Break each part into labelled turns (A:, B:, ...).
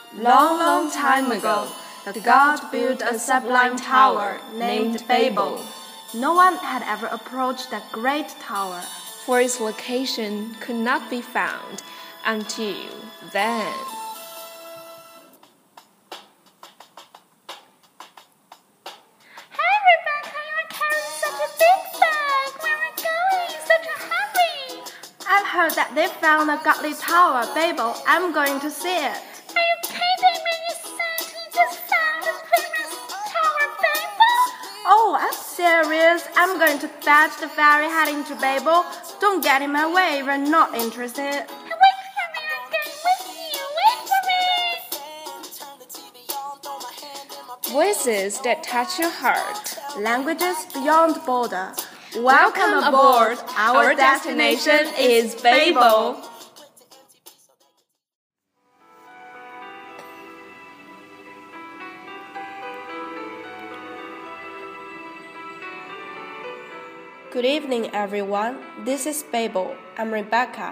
A: Long, long time ago, the god built a sublime tower named Babel.
B: No one had ever approached that great tower,
A: for its location could not be found until then.
C: Hey Rebecca, you're carrying such a big bag. Where are you going? Such a hurry.
B: I've heard that they found a godly tower, Babel. I'm going to see it.
C: Are you kidding me? You said you just found the famous tower, Babel?
B: Oh, I'm serious. I'm going to fetch the ferry heading to Babel. Don't get in my way. We're not interested.
C: Wait for me. I'm going with you. Wait for me.
A: Voices that touch your heart.
B: Languages beyond border.
A: Welcome aboard. Our destination is Babel.
B: Good evening, everyone. This is Babel. I'm Rebecca.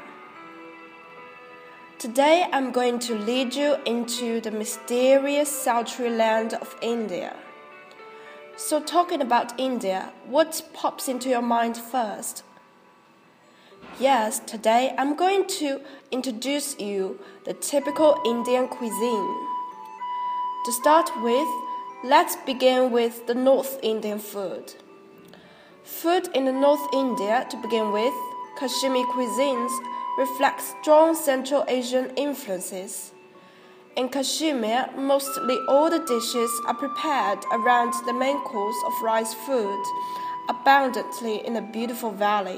B: Today, I'm going to lead you into the mysterious sultry land of India. So, talking about India, what pops into your mind first? Yes, today I'm going to introduce you the typical Indian cuisine. To start with, let's begin with the North Indian food. Food in the North India, to begin with, Kashmiri cuisines reflect strong Central Asian influences. In Kashmir, mostly all the dishes are prepared around the main course of rice food, abundantly in a beautiful valley.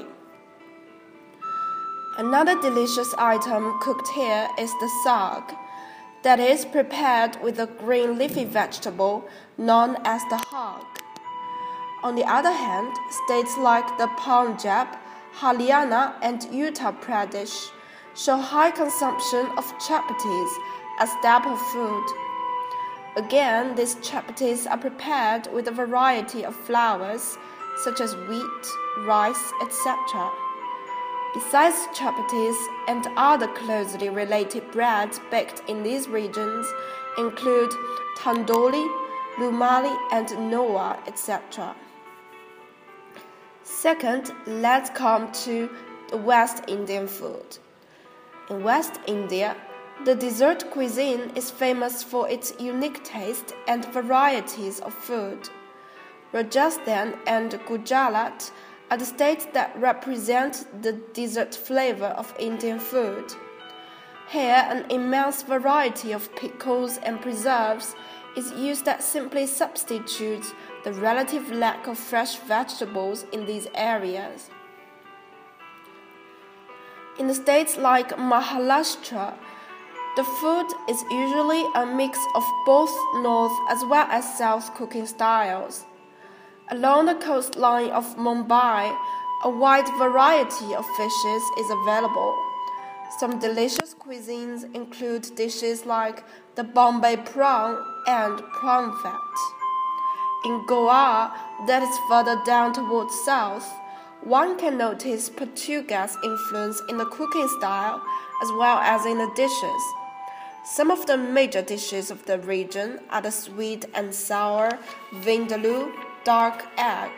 B: Another delicious item cooked here is the saag, that is prepared with a green leafy vegetable known as the hog. On the other hand, states like the Punjab, Haryana, and Uttar Pradesh show high consumption of chapatis as staple food. Again, these chapatis are prepared with a variety of flours, such as wheat, rice, etc. Besides chapatis and other closely related breads baked in these regions include tandoori, rumali, and noa, etc. Second, let's come to the West Indian food. In West India, the dessert cuisine is famous for its unique taste and varieties of food. Rajasthan and Gujarat are the states that represent the dessert flavor of Indian food. Here, an immense variety of pickles and preserves is used that simply substitutes the relative lack of fresh vegetables in these areas. In the states like Maharashtra, the food is usually a mix of both North as well as South cooking styles. Along the coastline of Mumbai, a wide variety of fishes is available. Some delicious cuisines include dishes like the Bombay prawn and prawn fat. In Goa, that is further down towards south, one can notice Portuguese influence in the cooking style as well as in the dishes. Some of the major dishes of the region are the sweet and sour vindaloo, dark egg.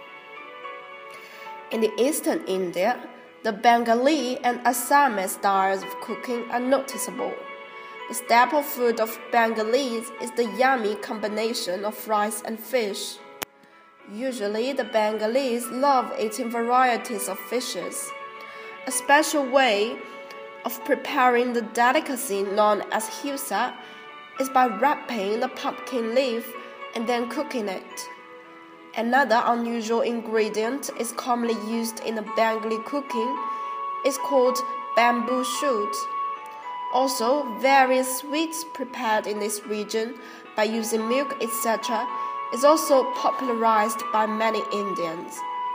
B: In the eastern India, the Bengali and Assamese styles of cooking are noticeable. The staple food of Bengalis is the yummy combination of rice and fish. Usually, the Bengalis love eating varieties of fishes. A special way of preparing the delicacy known as hilsa is by wrapping the pumpkin leaf and then cooking it. Another unusual ingredient is commonly used in the Bengali cooking is called bamboo shoot. Also, various sweets prepared in this region by using milk, etc., is also popularized by many Indians.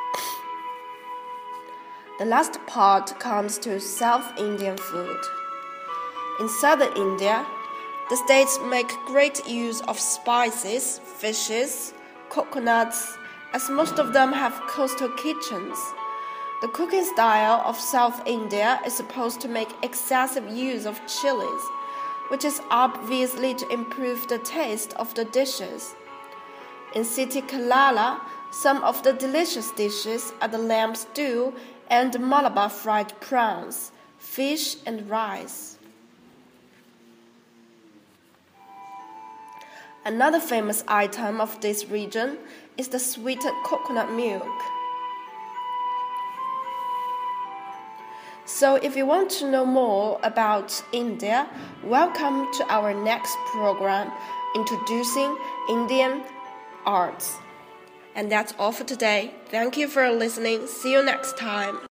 B: The last part comes to South Indian food. In southern India, the states make great use of spices, fishes, coconuts, as most of them have coastal kitchens. The cooking style of South India is supposed to make excessive use of chilies, which is obviously to improve the taste of the dishes. In City Kerala, some of the delicious dishes are the lamb stew and Malabar fried prawns, fish and rice. Another famous item of this region is the sweetened coconut milk. So if you want to know more about India, welcome to our next program, Introducing Indian Arts. And that's all for today. Thank you for listening. See you next time.